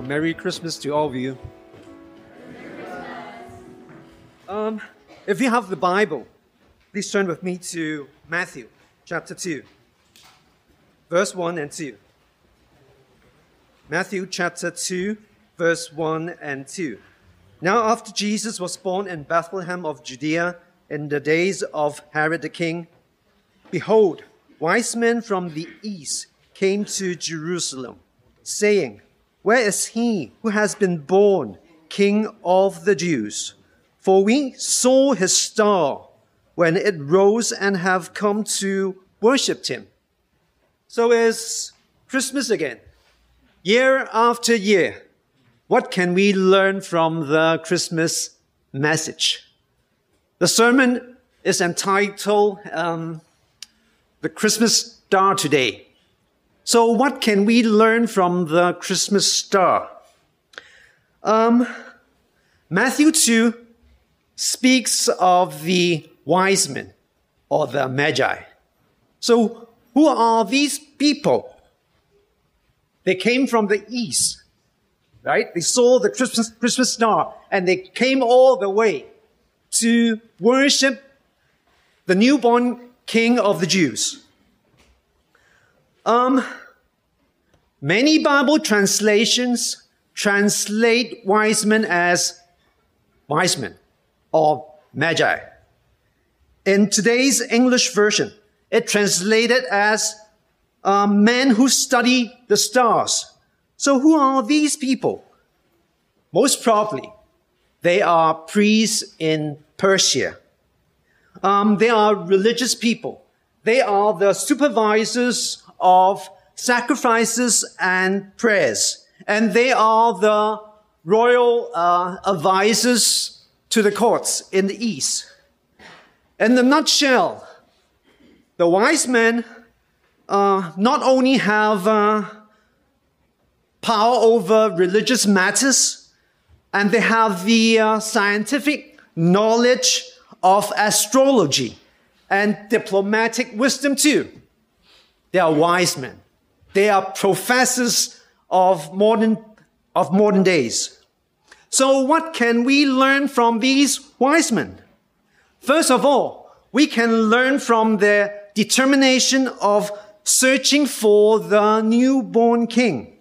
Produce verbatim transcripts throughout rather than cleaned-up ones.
Merry Christmas to all of you. Um, if you have the Bible, please turn with me to Matthew chapter two, verse one and two. Matthew chapter two, verse one and two. Now after Jesus was born in Bethlehem of Judea in the days of Herod the king, behold, wise men from the east came to Jerusalem, saying, Where is he who has been born King of the Jews? For we saw his star when it rose and have come to worship him. So it's Christmas again, year after year. What can we learn from the Christmas message? The sermon is entitled um, The Christmas Star Today. So what can we learn from the Christmas star? Um, Matthew two speaks of the wise men or the Magi. So who are these people? They came from the east, right? They saw the Christmas, Christmas star and they came all the way to worship the newborn King of the Jews. Um, many Bible translations translate wise men as wise men or magi. In today's English version, it translated as uh, men who study the stars. So who are these people? Most probably, they are priests in Persia. Um, they are religious people. They are the supervisors of sacrifices and prayers. And they are the royal uh, advisors to the courts in the east. In a nutshell, the wise men uh, not only have uh, power over religious matters, and they have the uh, scientific knowledge of astrology and diplomatic wisdom too. They are wise men. They are professors of modern, of modern days. So what can we learn from these wise men? First of all, we can learn from their determination of searching for the newborn king.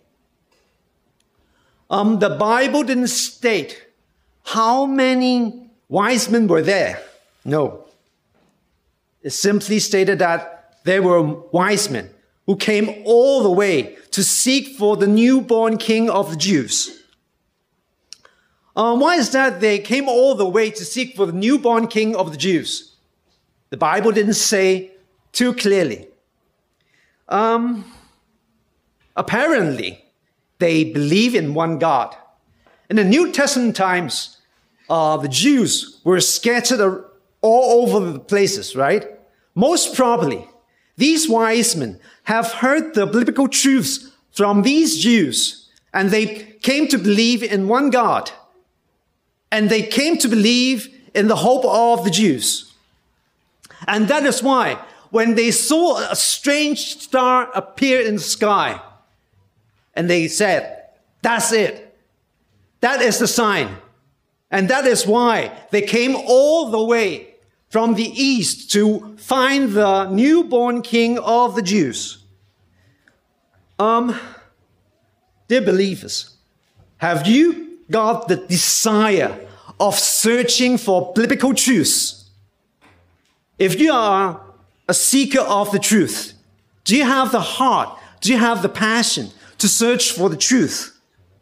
Um, the Bible didn't state how many wise men were there. No. It simply stated that there were wise men who came all the way to seek for the newborn King of the Jews. Uh, why is that they came all the way to seek for the newborn King of the Jews? The Bible didn't say too clearly. Um, apparently, they believe in one God. In the New Testament times, uh, the Jews were scattered all over the places, right? Most probably, these wise men have heard the biblical truths from these Jews, and they came to believe in one God, and they came to believe in the hope of the Jews. And that is why, when they saw a strange star appear in the sky, and they said, that's it. That is the sign. And that is why they came all the way from the east to find the newborn King of the Jews. Um, dear believers, have you got the desire of searching for biblical truths? If you are a seeker of the truth, do you have the heart, do you have the passion to search for the truth?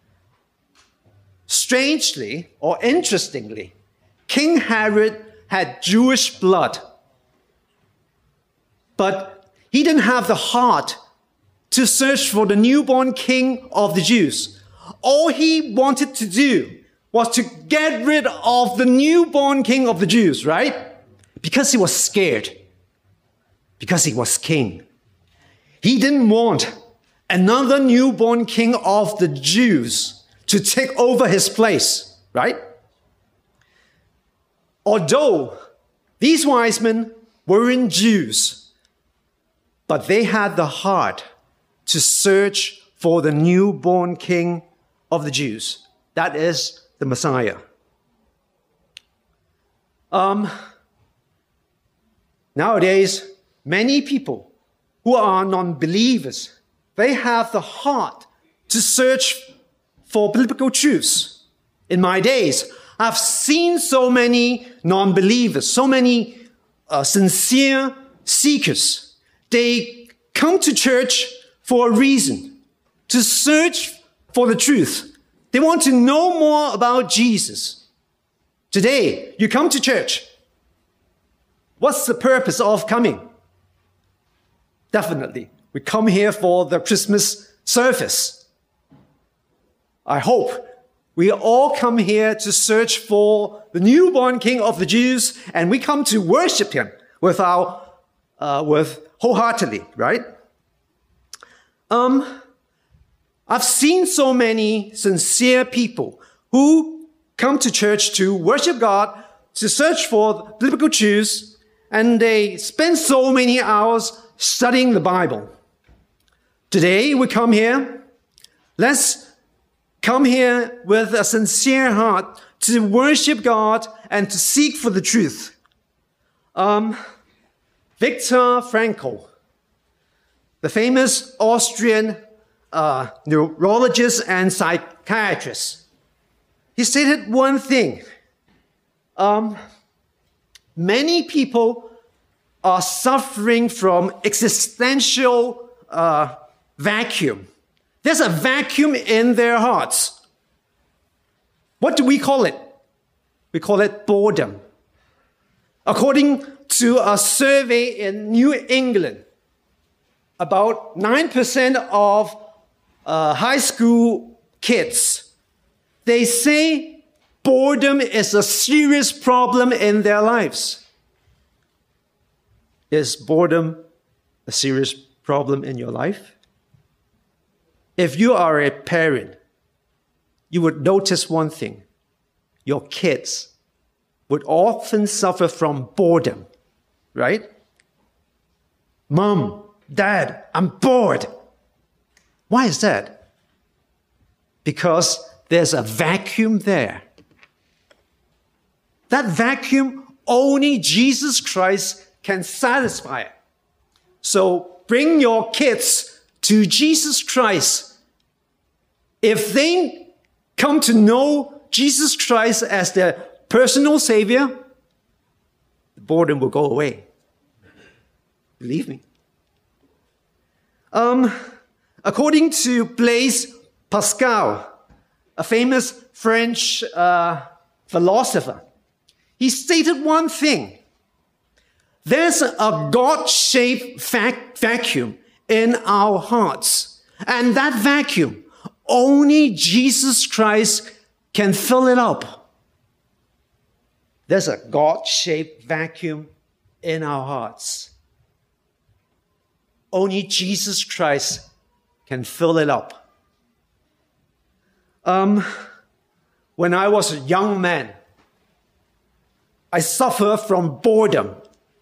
Strangely or interestingly, King Herod had Jewish blood, but he didn't have the heart to search for the newborn King of the Jews. All he wanted to do was to get rid of the newborn King of the Jews, right? Because he was scared. Because he was king. He didn't want another newborn King of the Jews to take over his place, right? Although these wise men weren't Jews, but they had the heart to search for the newborn King of the Jews. That is the Messiah. Um, nowadays, many people who are non-believers, they have the heart to search for biblical truths. In my days, I've seen so many non-believers, so many uh, sincere seekers. They come to church for a reason, to search for the truth. They want to know more about Jesus. Today, you come to church. What's the purpose of coming? Definitely, we come here for the Christmas service. I hope we all come here to search for the newborn King of the Jews, and we come to worship him with our, uh, with wholeheartedly, right? Um, I've seen so many sincere people who come to church to worship God, to search for biblical truths, and they spend so many hours studying the Bible. Today, we come here. Let's come here with a sincere heart to worship God and to seek for the truth. Um, Viktor Frankl, the famous Austrian uh, neurologist and psychiatrist, he stated one thing. Um, many people are suffering from existential uh, vacuum. There's a vacuum in their hearts. What do we call it? We call it boredom. According to a survey in New England, about nine percent of uh, high school kids, they say boredom is a serious problem in their lives. Is boredom a serious problem in your life? If you are a parent, you would notice one thing. Your kids would often suffer from boredom, right? Mom, Dad, I'm bored. Why is that? Because there's a vacuum there. That vacuum, only Jesus Christ can satisfy it. So bring your kids to Jesus Christ. If they come to know Jesus Christ as their personal Savior, the boredom will go away. Believe me. Um, according to Blaise Pascal, a famous French uh, philosopher, he stated one thing. There's a God-shaped vac- vacuum in our hearts. And that vacuum, only Jesus Christ can fill it up. There's a God-shaped vacuum in our hearts. Only Jesus Christ can fill it up. Um, when I was a young man, I suffered from boredom.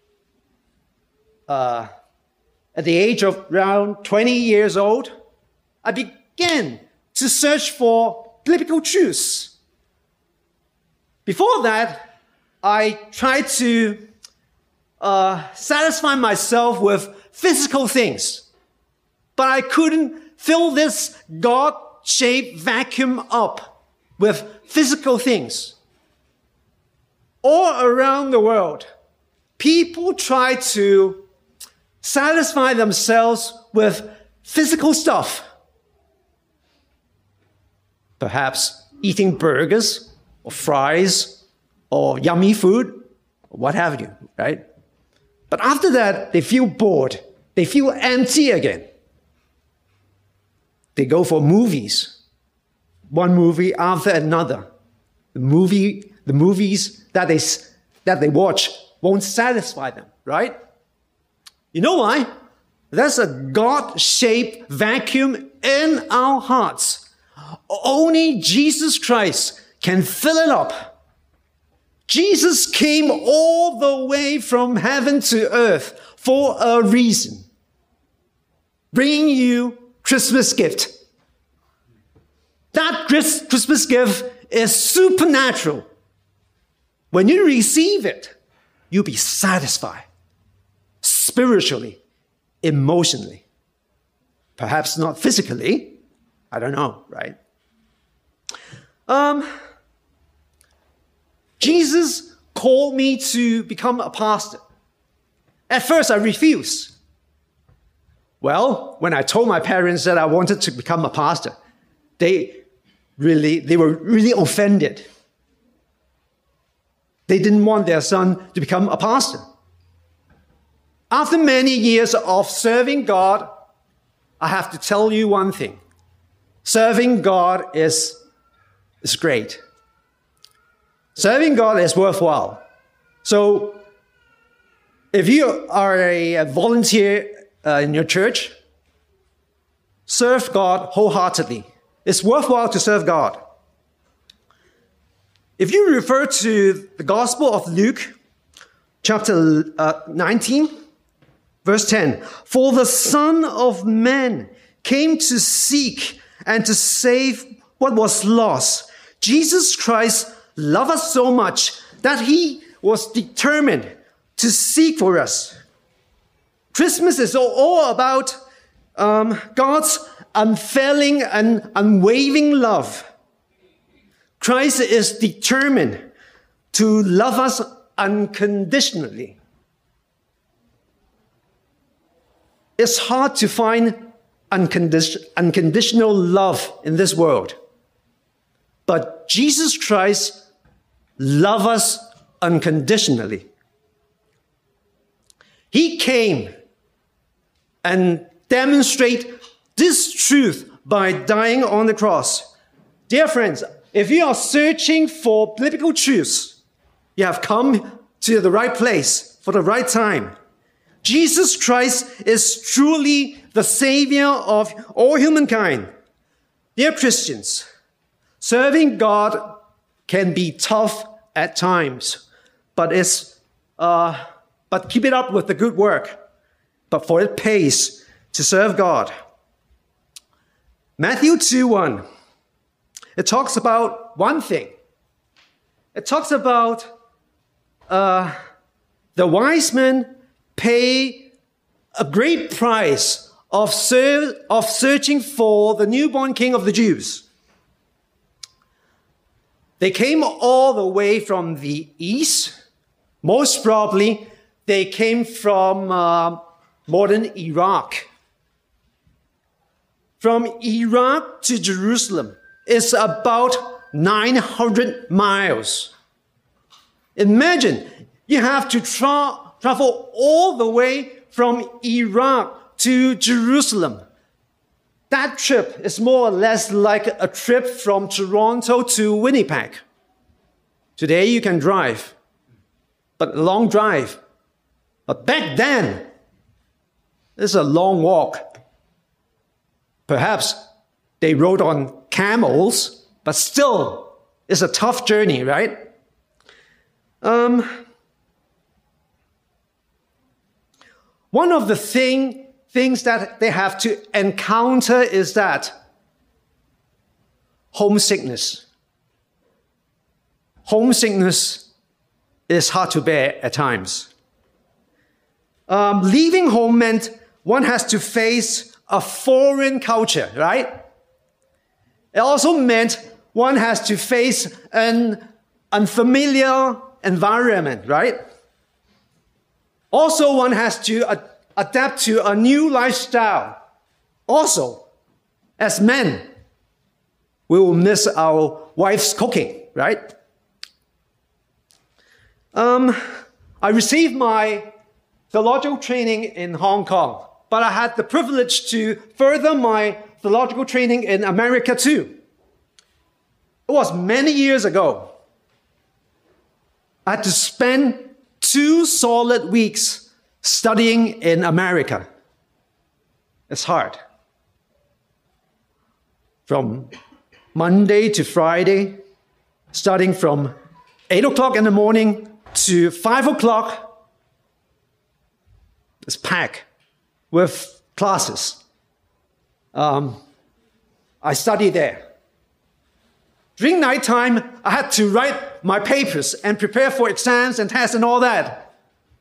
Uh, at the age of around twenty years old, I began to search for biblical truths. Before that, I tried to uh, satisfy myself with physical things, but I couldn't fill this God-shaped vacuum up with physical things. All around the world, people try to satisfy themselves with physical stuff. Perhaps eating burgers or fries or yummy food, or what have you, right? But after that, they feel bored. They feel empty again. They go for movies. One movie after another. The movie, the movies that they, that they watch won't satisfy them, right? You know why? There's a God-shaped vacuum in our hearts. Only Jesus Christ can fill it up. Jesus came all the way from heaven to earth for a reason. Bringing you Christmas gift. That Christmas gift is supernatural. When you receive it, you'll be satisfied spiritually, emotionally. Perhaps not physically. I don't know, right? Um, Jesus called me to become a pastor. At first, I refused. Well, when I told my parents that I wanted to become a pastor, they really, they were really offended. They didn't want their son to become a pastor. After many years of serving God, I have to tell you one thing. Serving God is, is great. Serving God is worthwhile. So, if you are a volunteer uh, in your church, serve God wholeheartedly. It's worthwhile to serve God. If you refer to the Gospel of Luke, chapter uh, nineteen, verse ten, for the Son of Man came to seek and to save what was lost. Jesus Christ loved us so much that he was determined to seek for us. Christmas is all about um, God's unfailing and unwavering love. Christ is determined to love us unconditionally. It's hard to find uncondi- unconditional love in this world. But Jesus Christ loves us unconditionally. He came and demonstrated this truth by dying on the cross. Dear friends, if you are searching for biblical truths, you have come to the right place for the right time. Jesus Christ is truly the Savior of all humankind. Dear Christians, serving God can be tough at times, but it's uh, but keep it up with the good work. But for it pays to serve God. Matthew two one. It talks about one thing. It talks about uh, the wise men pay a great price of, ser- of searching for the newborn king of the Jews. They came all the way from the east. Most probably, they came from uh, modern Iraq. From Iraq to Jerusalem is about nine hundred miles. Imagine you have to tra- travel all the way from Iraq to Jerusalem. That trip is more or less like a trip from Toronto to Winnipeg. Today you can drive, but a long drive. But back then, it's a long walk. Perhaps they rode on camels, but still, it's a tough journey, right? Um, one of the thing, things that they have to encounter is that homesickness. Homesickness is hard to bear at times. Um, leaving home meant one has to face a foreign culture, right? It also meant one has to face an unfamiliar environment, right? Also, one has to ad- adapt to a new lifestyle. Also, as men, we will miss our wife's cooking, right? Um, I received my theological training in Hong Kong, but I had the privilege to further my theological training in America too. It was many years ago. I had to spend two solid weeks studying in America. It's hard. From Monday to Friday, starting from eight o'clock in the morning to five o'clock, it's packed with classes. Um, I studied there. During nighttime, I had to write my papers and prepare for exams and tests and all that.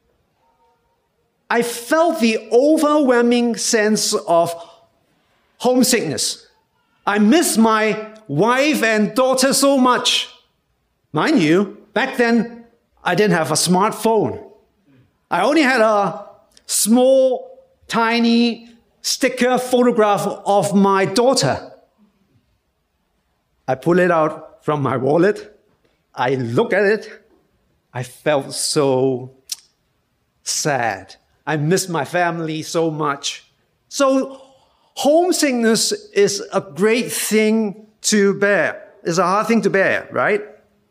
I felt the overwhelming sense of homesickness. I miss my wife and daughter so much. Mind you, back then, I didn't have a smartphone. I only had a small, tiny sticker photograph of my daughter. I pull it out from my wallet. I look at it. I felt so sad. I miss my family so much. So homesickness is a great thing to bear. It's a hard thing to bear, right?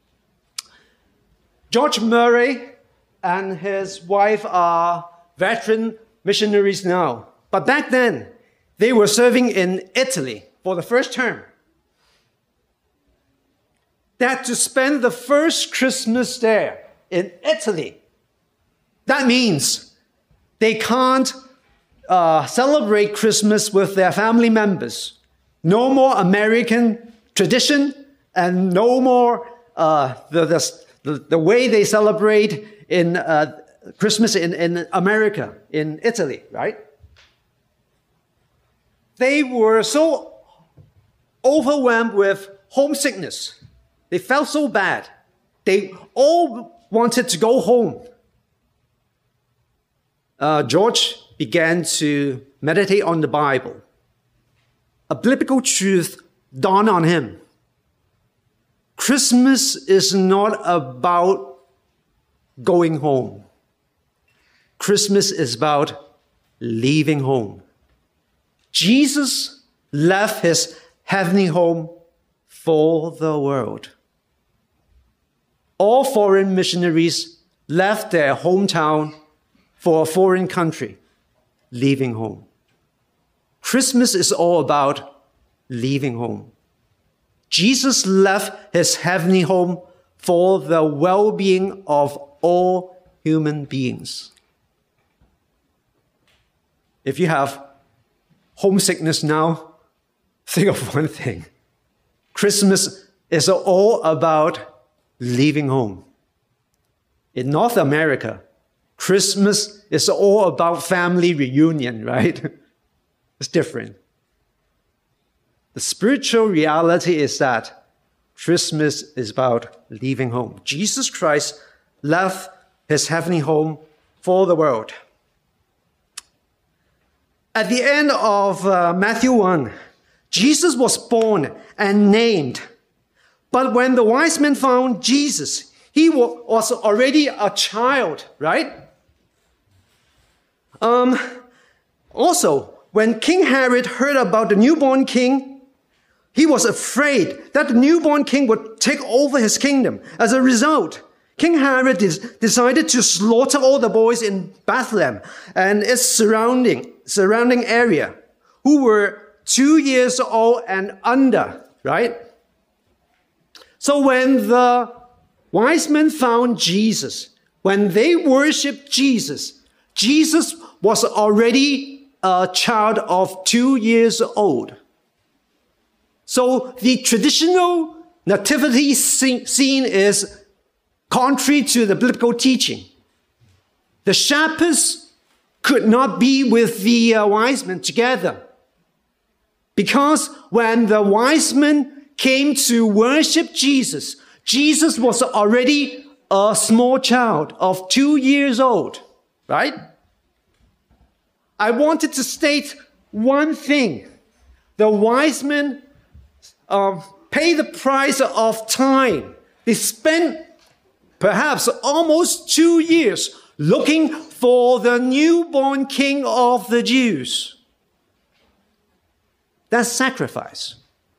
George Murray and his wife are veteran missionaries now. But back then, they were serving in Italy for the first term. They had to spend the first Christmas there in Italy. That means they can't uh, celebrate Christmas with their family members. No more American tradition and no more uh, the, the, the way they celebrate in uh, Christmas in, in America, in Italy, right? They were so overwhelmed with homesickness. They felt so bad. They all wanted to go home. Uh, George began to meditate on the Bible. A biblical truth dawned on him. Christmas is not about going home. Christmas is about leaving home. Jesus left his heavenly home for the world. All foreign missionaries left their hometown for a foreign country, leaving home. Christmas is all about leaving home. Jesus left his heavenly home for the well-being of all human beings. If you have homesickness now, think of one thing. Christmas is all about leaving home. In North America, Christmas is all about family reunion, right? It's different. The spiritual reality is that Christmas is about leaving home. Jesus Christ left his heavenly home for the world. At the end of uh, Matthew one, Jesus was born and named. But when the wise men found Jesus, he was already a child, right? Um, also, when King Herod heard about the newborn king, he was afraid that the newborn king would take over his kingdom. As a result, King Herod decided to slaughter all the boys in Bethlehem and its surrounding, surrounding area who were two years old and under, right? So when the wise men found Jesus, when they worshiped Jesus, Jesus was already a child of two years old. So the traditional nativity scene is contrary to the biblical teaching. The shepherds could not be with the uh, wise men together, because when the wise men came to worship Jesus, Jesus was already a small child of two years old, right? I wanted to state one thing. The wise men uh, pay the price of time. They spent perhaps almost two years looking for the newborn king of the Jews. That's sacrifice.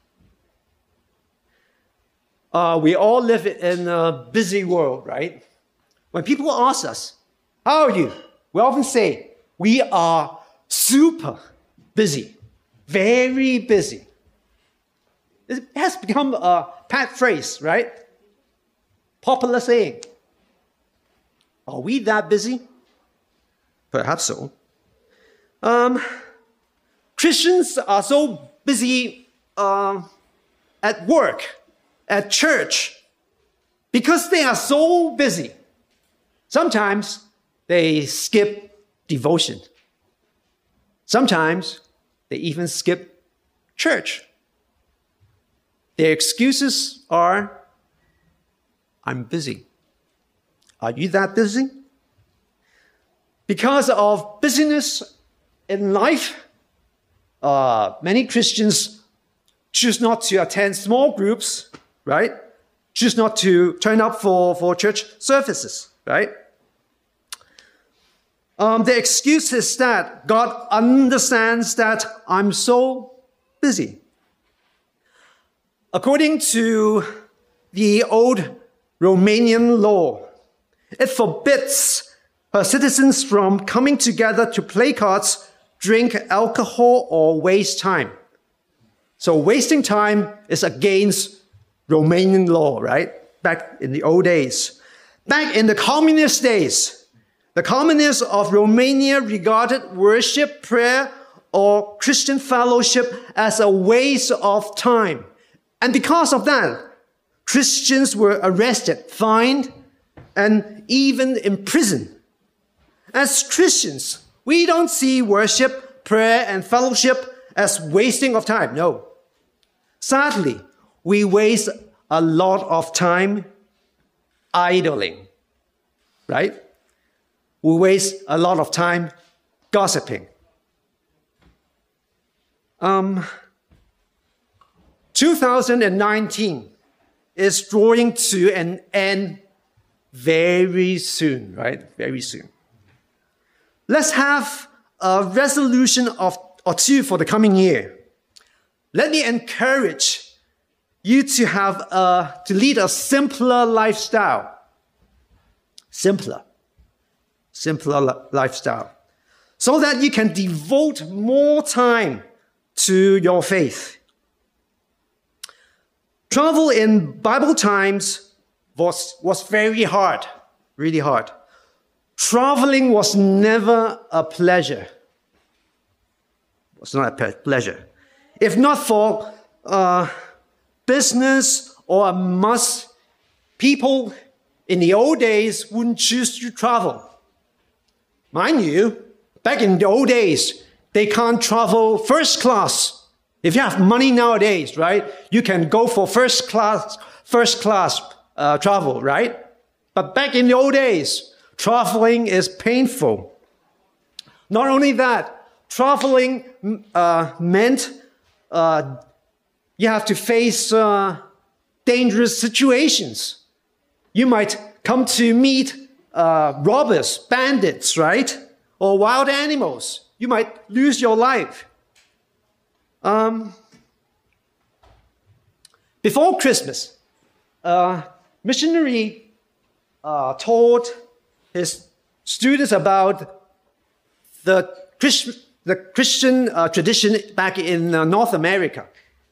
Uh, we all live in a busy world, right? When people ask us, how are you? We often say, we are super busy, very busy. It has become a pet phrase, right? Popular saying. Are we that busy? Perhaps so. Um, Christians are so busy uh, at work at church because they are so busy. Sometimes they skip devotion. Sometimes they even skip church. Their excuses are, I'm busy. Are you that busy? Because of busyness in life, uh, many Christians choose not to attend small groups, right? Choose not to turn up for, for church services, right? Um, the excuse is that God understands that I'm so busy. According to the old Romanian law, it forbids her citizens from coming together to play cards, drink alcohol, or waste time. So wasting time is against Romanian law, right? Back in the old days. Back in the communist days, the communists of Romania regarded worship, prayer, or Christian fellowship as a waste of time. And because of that, Christians were arrested, fined, and even imprisoned. As Christians, we don't see worship, prayer, and fellowship as wasting of time. No. Sadly, we waste a lot of time idling, right? We waste a lot of time gossiping. Um, two thousand nineteen is drawing to an end very soon, right? Very soon. Let's have a resolution of or two for the coming year. Let me encourage you to have a, to lead a simpler lifestyle. Simpler. Simpler li- lifestyle. So that you can devote more time to your faith. Travel in Bible times was, was very hard, really hard. Traveling was never a pleasure. It was not a pe- pleasure. If not for uh, business or a must, people in the old days wouldn't choose to travel. Mind you, back in the old days, they can't travel first class. If you have money nowadays, right, you can go for first class, first class uh, travel, right? But back in the old days, traveling is painful. Not only that, traveling uh, meant uh, you have to face uh, dangerous situations. You might come to meet uh, robbers, bandits, right? Or wild animals. You might lose your life. Um, before Christmas, a missionary uh, told his students about the, Christ, the Christian uh, tradition back in uh, North America.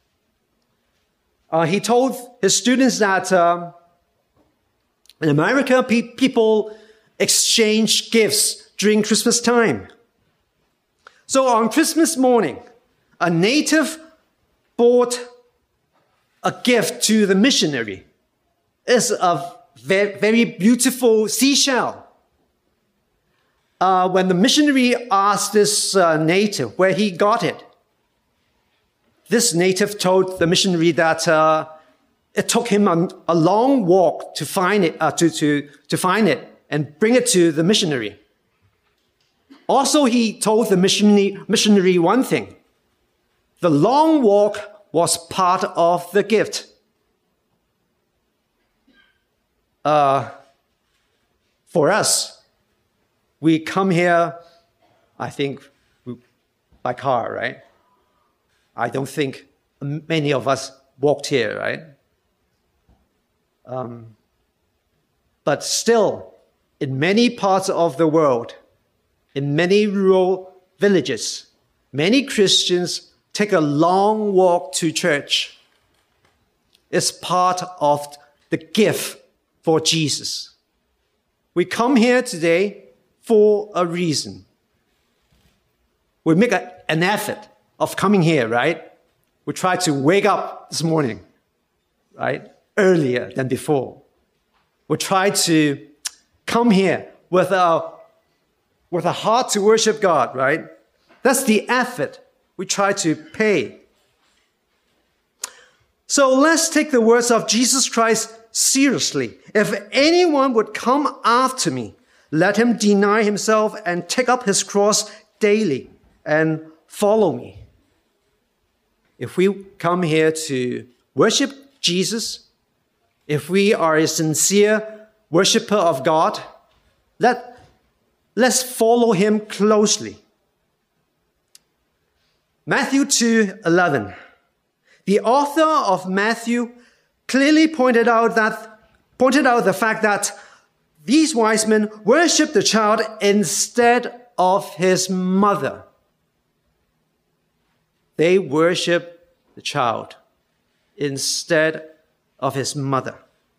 Uh, he told his students that uh, in America, pe- people exchange gifts during Christmas time. So on Christmas morning, a native bought a gift to the missionary. It's a very, very beautiful seashell. Uh, when the missionary asked this uh, native where he got it, this native told the missionary that uh, it took him a, a long walk to find it, uh, to, to, to find it and bring it to the missionary. Also, he told the missionary, missionary one thing. The long walk was part of the gift. Uh, for us, we come here, I think, by car, right? I don't think many of us walked here, right? Um, but still, in many parts of the world, in many rural villages, many Christians take a long walk to church. It's part of the gift for Jesus. We come here today for a reason. We make a, an effort of coming here, right? We try to wake up this morning, right? earlier than before. We try to come here with a, with a heart to worship God, right? That's the effort we try to pay. So let's take the words of Jesus Christ seriously. If anyone would come after me, let him deny himself and take up his cross daily and follow me. If we come here to worship Jesus, if we are a sincere worshiper of God, let, let's follow him closely. Matthew two eleven. The author of Matthew clearly pointed out that pointed out the fact that these wise men worshiped the child instead of his mother. They worshiped the child instead of his mother.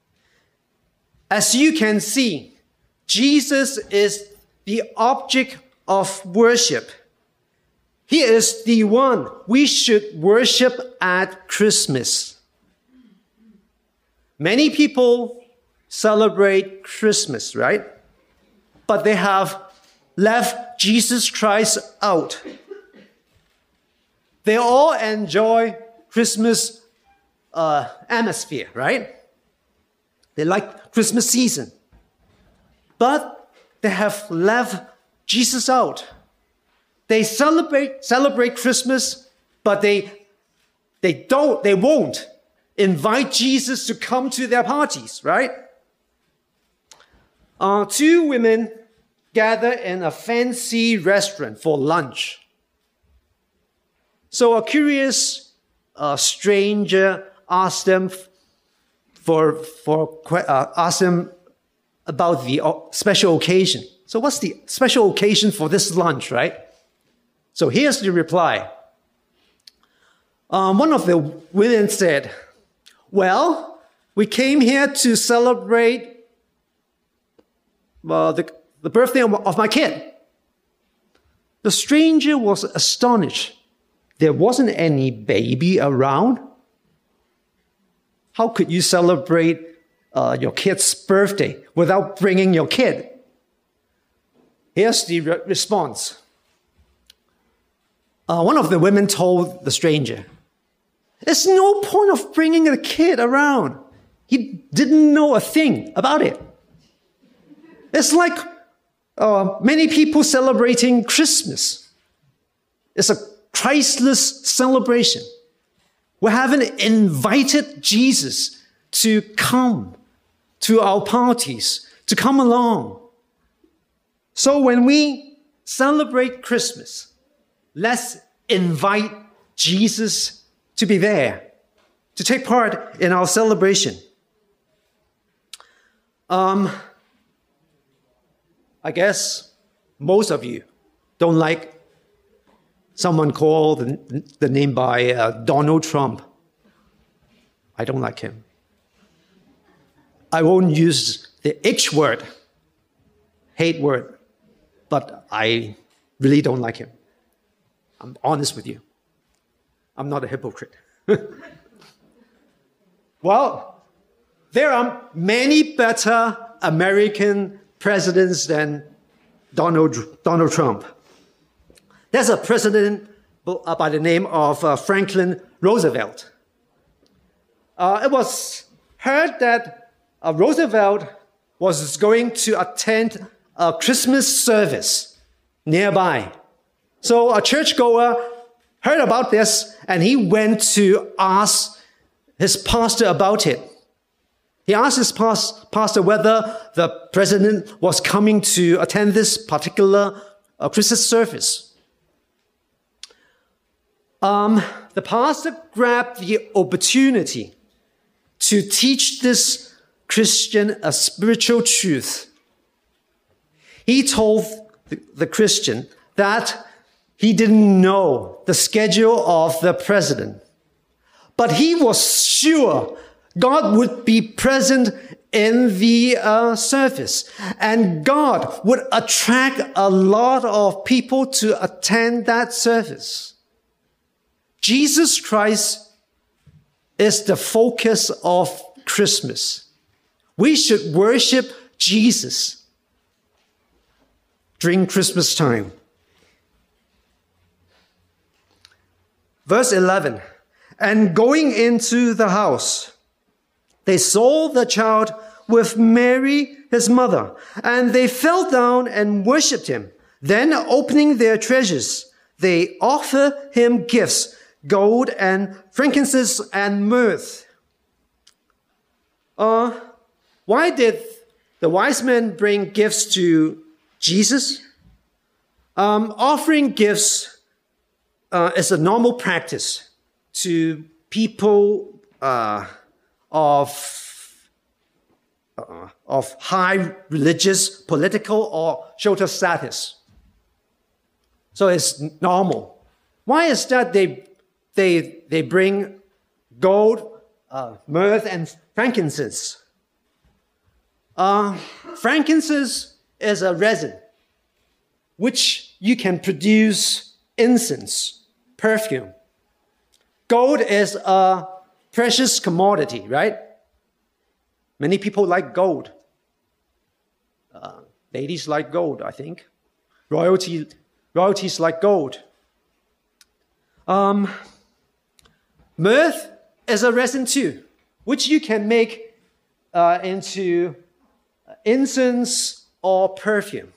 As you can see, Jesus is the object of worship. He is the one we should worship at Christmas. Many people celebrate Christmas, right? But they have left Jesus Christ out. They all enjoy Christmas uh, atmosphere, right? They like Christmas season. But they have left Jesus out. They celebrate celebrate Christmas, but they they don't they won't invite Jesus to come to their parties, right? Uh, two women gather in a fancy restaurant for lunch. So a curious uh, stranger asked them for for uh, asked them about the special occasion. So what's the special occasion for this lunch, right? So here's the reply. Um, one of the women said, well, we came here to celebrate uh, the, the birthday of, of my kid. The stranger was astonished. There wasn't any baby around. How could you celebrate uh, your kid's birthday without bringing your kid? Here's the re- response. Uh, one of the women told the stranger, there's no point of bringing the kid around. He didn't know a thing about it. It's like uh, many people celebrating Christmas. It's a Christless celebration. We haven't invited Jesus to come to our parties, to come along. So when we celebrate Christmas, let's invite Jesus to be there, to take part in our celebration. Um, I guess most of you don't like someone called the, the name by uh, Donald Trump. I don't like him. I won't use the H word, hate word, but I really don't like him. I'm honest with you. I'm not a hypocrite. Well, there are many better American presidents than Donald, Donald Trump. There's a president by the name of uh, Franklin Roosevelt. Uh, it was heard that uh, Roosevelt was going to attend a Christmas service nearby. So a churchgoer heard about this, and he went to ask his pastor about it. He asked his pas- pastor whether the president was coming to attend this particular uh, Christmas service. Um, the pastor grabbed the opportunity to teach this Christian a spiritual truth. He told the, the Christian that he didn't know the schedule of the president, but he was sure God would be present in the uh, service, and God would attract a lot of people to attend that service. Jesus Christ is the focus of Christmas. We should worship Jesus during Christmas time. Verse eleven, and going into the house, they saw the child with Mary, his mother, and they fell down and worshipped him. Then, opening their treasures, they offered him gifts, gold and frankincense and myrrh. Uh, why did the wise men bring gifts to Jesus? Um, offering gifts uh, is a normal practice to people uh, of uh, of high religious, political, or social status. So it's normal. Why is that they they they bring gold, uh, myrrh, and frankincense? Uh, frankincense is a resin which you can produce incense, perfume. Gold is a precious commodity, right? Many people like gold. Uh, ladies like gold, I think. Royalty, royalties like gold. Um, myrrh is a resin too, which you can make uh, into incense or perfume.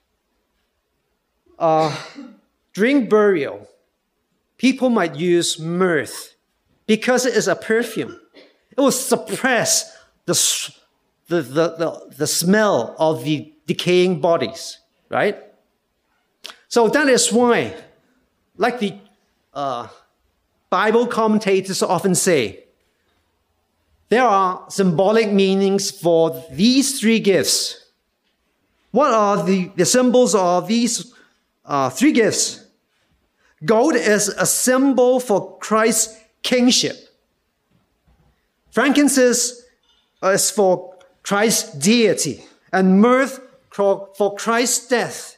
Uh, during burial, people might use myrrh because it is a perfume. It will suppress the, the, the, the, the smell of the decaying bodies, right? So that is why, like the uh, Bible commentators often say, there are symbolic meanings for these three gifts. What are the, the symbols of these uh, three gifts? Gold is a symbol for Christ's kingship. Frankincense is for Christ's deity, and myrrh for Christ's death.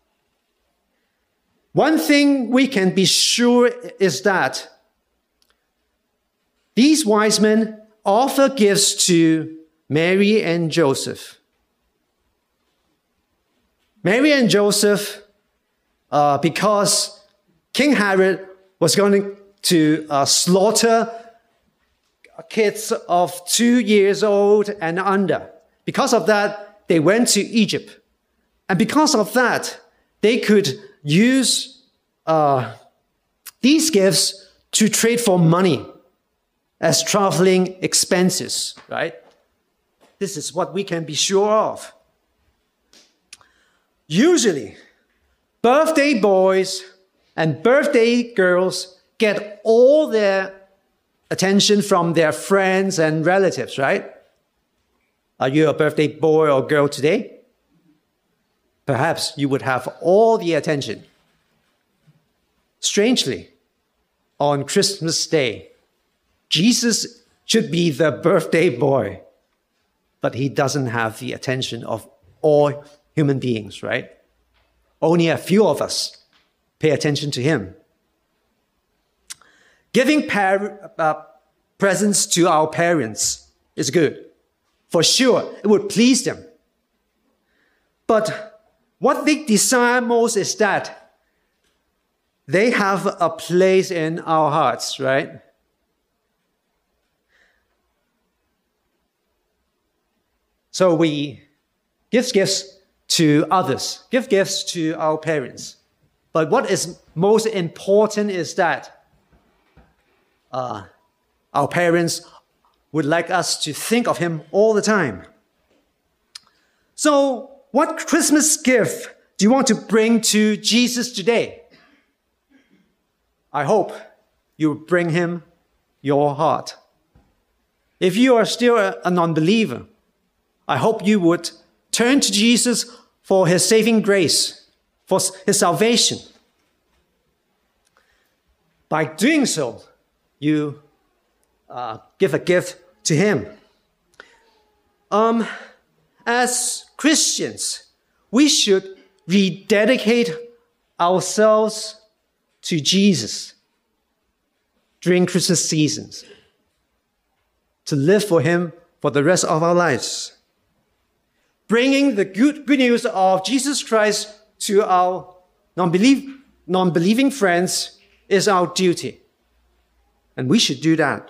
One thing we can be sure is that these wise men offer gifts to Mary and Joseph. Mary and Joseph, uh, because King Herod was going to uh, slaughter kids of two years old and under. Because of that, they went to Egypt. And because of that, they could use uh, these gifts to trade for money as traveling expenses, right? This is what we can be sure of. Usually, birthday boys and birthday girls get all their attention from their friends and relatives, right? Are you a birthday boy or girl today? Perhaps you would have all the attention. Strangely, on Christmas Day, Jesus should be the birthday boy, but he doesn't have the attention of all human beings, right? Only a few of us pay attention to him. Giving par- uh, presents to our parents is good. For sure, it would please them. But what they desire most is that they have a place in our hearts, right? So we give gifts to others, give gifts to our parents. But what is most important is that uh, our parents would like us to think of him all the time. So, what Christmas gift do you want to bring to Jesus today? I hope you bring him your heart. If you are still a non-believer, I hope you would turn to Jesus for his saving grace, for his salvation. By doing so, you uh, give a gift to him. Um, as Christians, we should rededicate ourselves to Jesus during Christmas seasons. to live for Him for the rest of our lives. Bringing the good, good news of Jesus Christ to our non-believe, non-believing friends is our duty. And we should do that.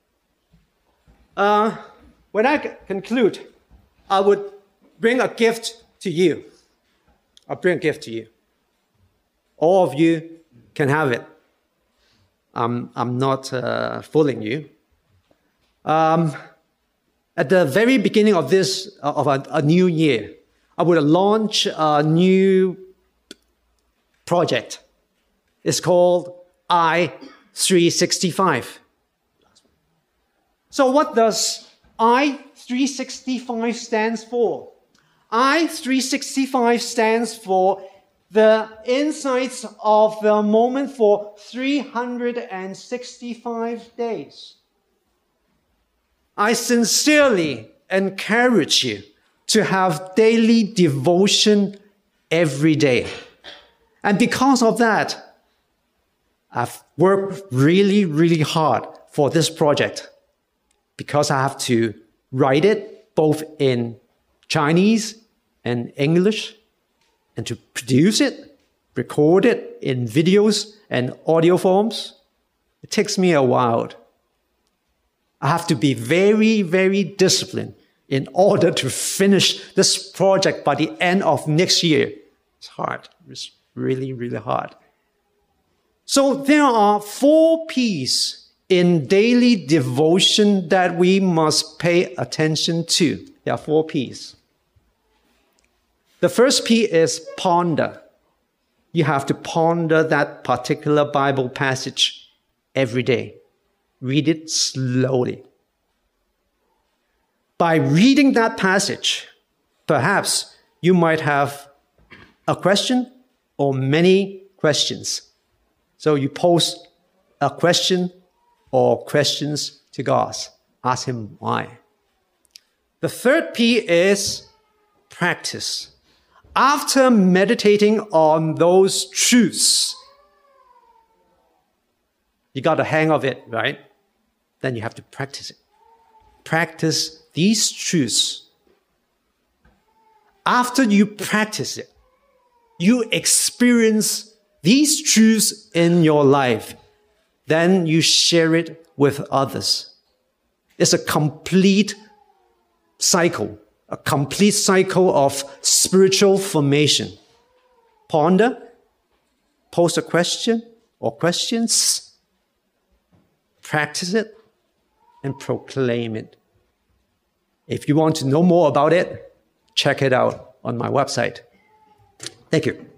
Uh, when I conclude, I would bring a gift to you. I'll bring a gift to you. All of you can have it. I'm, I'm not uh, fooling you. Um, at the very beginning of this, uh, of a, a new year, I would launch a new project. It's called I three sixty-five. So what does I three sixty-five stands for? I three sixty-five stands for the insights of the moment for three hundred sixty-five days. I sincerely encourage you to have daily devotion every day. And because of that, I've worked really, really hard for this project because I have to write it both in Chinese and English, and to produce it, record it in videos and audio forms. It takes me a while. I have to be very, very disciplined in order to finish this project by the end of next year. It's hard. It's really, really hard. So there are four P's in daily devotion that we must pay attention to. There are four P's. The first P is ponder. You have to ponder that particular Bible passage every day. Read it slowly. By reading that passage, perhaps you might have a question or many questions. So you pose a question or questions to God. Ask Him why. The third P is practice. After meditating on those truths, you got the hang of it, right? Then you have to practice it. Practice these truths. After you practice it, you experience these truths in your life. Then you share it with others. It's a complete cycle, a complete cycle of spiritual formation. Ponder, pose a question or questions, practice it, and proclaim it. If you want to know more about it, check it out on my website. Thank you.